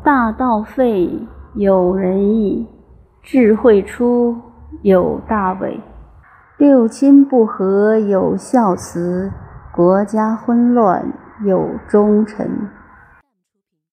大道废，有仁义；智慧出，有大伪。六亲不和，有孝慈；国家混乱，有忠臣。